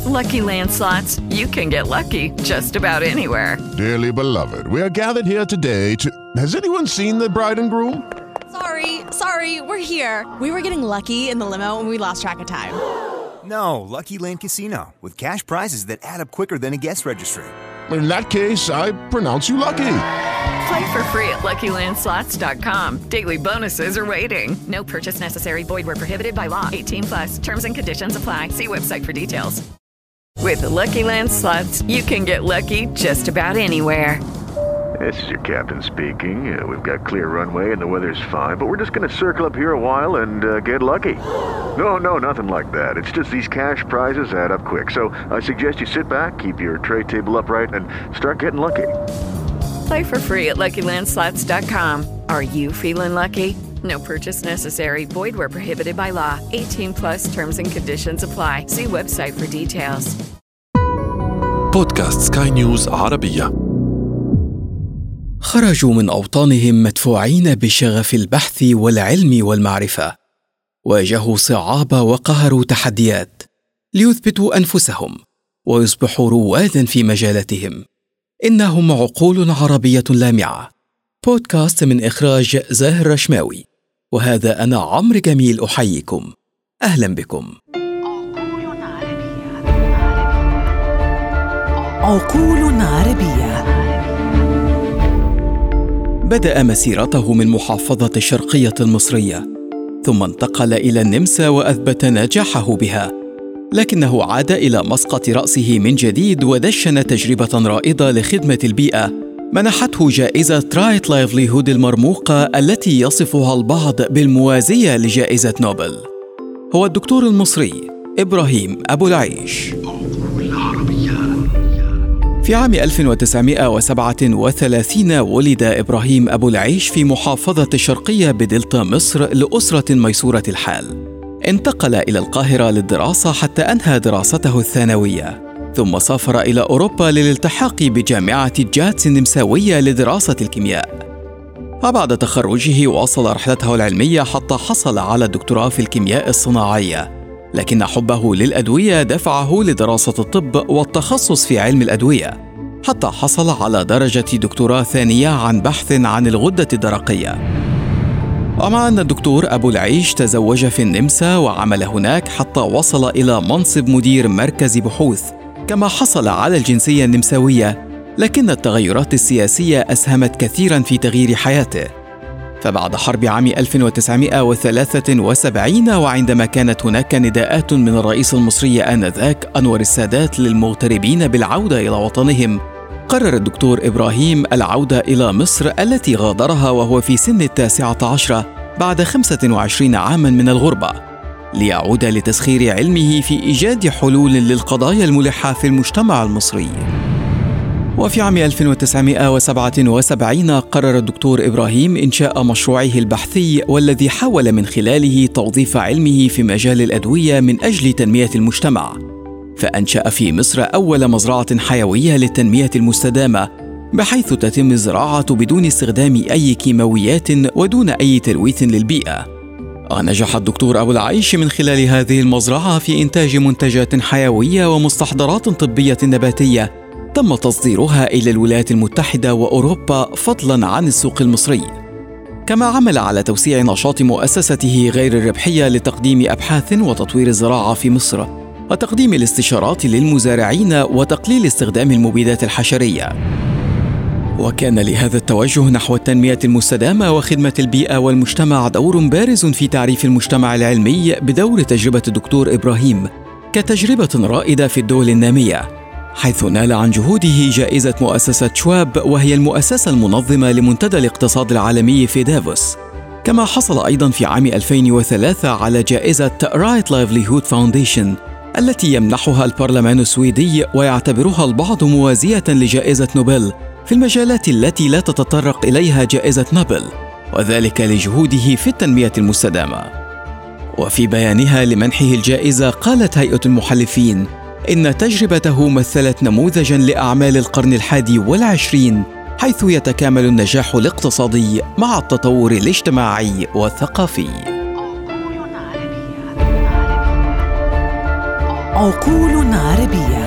Lucky Land Slots, you can get lucky just about anywhere. Dearly beloved, we are gathered here today to... Has anyone seen the bride and groom? Sorry, we're here. We were getting lucky in the limo and we lost track of time. No, Lucky Land Casino, with cash prizes that add up quicker than a guest registry. In that case, I pronounce you lucky. Play for free at LuckyLandSlots.com. Daily bonuses are waiting. No purchase necessary. Void where prohibited by law. 18+. Terms and conditions apply. See website for details. With Lucky Land Slots, you can get lucky just about anywhere. This is your captain speaking. We've got clear runway and the weather's fine, but we're just going to circle up here a while and get lucky. No, nothing like that. It's just these cash prizes add up quick. So I suggest you sit back, keep your tray table upright, and start getting lucky. Play for free at LuckyLandSlots.com. Are you feeling lucky? No purchase necessary. Void where prohibited by law. 18+. Terms and conditions apply. See website for details. بودكاست سكاي نيوز عربية. خرجوا من أوطانهم مدفوعين بشغف البحث والعلم والمعرفة، واجهوا صعاب وقهروا تحديات ليثبتوا أنفسهم ويصبحوا روادا في مجالاتهم. إنهم عقول عربية لامعة. بودكاست من إخراج زاهر رشماوي، وهذا أنا عمرو جميل أحييكم. أهلا بكم. عقول عربية. بدأ مسيرته من محافظة الشرقية المصرية، ثم انتقل إلى النمسا وأثبت نجاحه بها، لكنه عاد إلى مسقط رأسه من جديد ودشن تجربة رائدة لخدمة البيئة منحته جائزة رايت لايفليهود المرموقة التي يصفها البعض بالموازية لجائزة نوبل. هو الدكتور المصري إبراهيم أبو العيش. في عام 1937 ولد إبراهيم أبو العيش في محافظة الشرقية بدلتا مصر لأسرة ميسورة الحال. انتقل إلى القاهرة للدراسة حتى أنهى دراسته الثانوية، ثم سافر إلى أوروبا للالتحاق بجامعة جاتس النمساوية لدراسة الكيمياء. وبعد تخرجه واصل رحلته العلمية حتى حصل على الدكتوراه في الكيمياء الصناعية، لكن حبه للأدوية دفعه لدراسة الطب والتخصص في علم الأدوية، حتى حصل على درجة دكتوراه ثانية عن بحث عن الغدة الدرقية. ومع أن الدكتور أبو العيش تزوج في النمسا وعمل هناك حتى وصل إلى منصب مدير مركز بحوث، كما حصل على الجنسية النمساوية، لكن التغيرات السياسية أسهمت كثيرا في تغيير حياته. فبعد حرب عام 1973 وعندما كانت هناك نداءات من الرئيس المصري آنذاك أنور السادات للمغتربين بالعودة إلى وطنهم، قرر الدكتور إبراهيم العودة إلى مصر التي غادرها وهو في سن 19 بعد 25 عاما من الغربة، ليعود لتسخير علمه في إيجاد حلول للقضايا الملحة في المجتمع المصري. وفي عام 1977 قرر الدكتور إبراهيم إنشاء مشروعه البحثي، والذي حاول من خلاله توظيف علمه في مجال الأدوية من أجل تنمية المجتمع، فأنشأ في مصر أول مزرعة حيوية للتنمية المستدامة، بحيث تتم الزراعة بدون استخدام أي كيماويات ودون أي تلويث للبيئة. ونجح الدكتور أبو العيش من خلال هذه المزرعة في إنتاج منتجات حيوية ومستحضرات طبية نباتية تم تصديرها إلى الولايات المتحدة وأوروبا فضلاً عن السوق المصري. كما عمل على توسيع نشاط مؤسسته غير الربحية لتقديم أبحاث وتطوير الزراعة في مصر، وتقديم الاستشارات للمزارعين وتقليل استخدام المبيدات الحشرية. وكان لهذا التوجه نحو التنمية المستدامة وخدمة البيئة والمجتمع دور بارز في تعريف المجتمع العلمي بدور تجربة الدكتور إبراهيم كتجربة رائدة في الدول النامية، حيث نال عن جهوده جائزة مؤسسة شواب، وهي المؤسسة المنظمة لمنتدى الاقتصاد العالمي في دافوس. كما حصل أيضا في عام 2003 على جائزة رايت لايفليهود فاونديشن التي يمنحها البرلمان السويدي، ويعتبرها البعض موازية لجائزة نوبل في المجالات التي لا تتطرق إليها جائزة نوبل، وذلك لجهوده في التنمية المستدامة. وفي بيانها لمنحه الجائزة قالت هيئة المحلفين إن تجربته مثلت نموذجاً لأعمال القرن 21، حيث يتكامل النجاح الاقتصادي مع التطور الاجتماعي والثقافي. عقول عربية.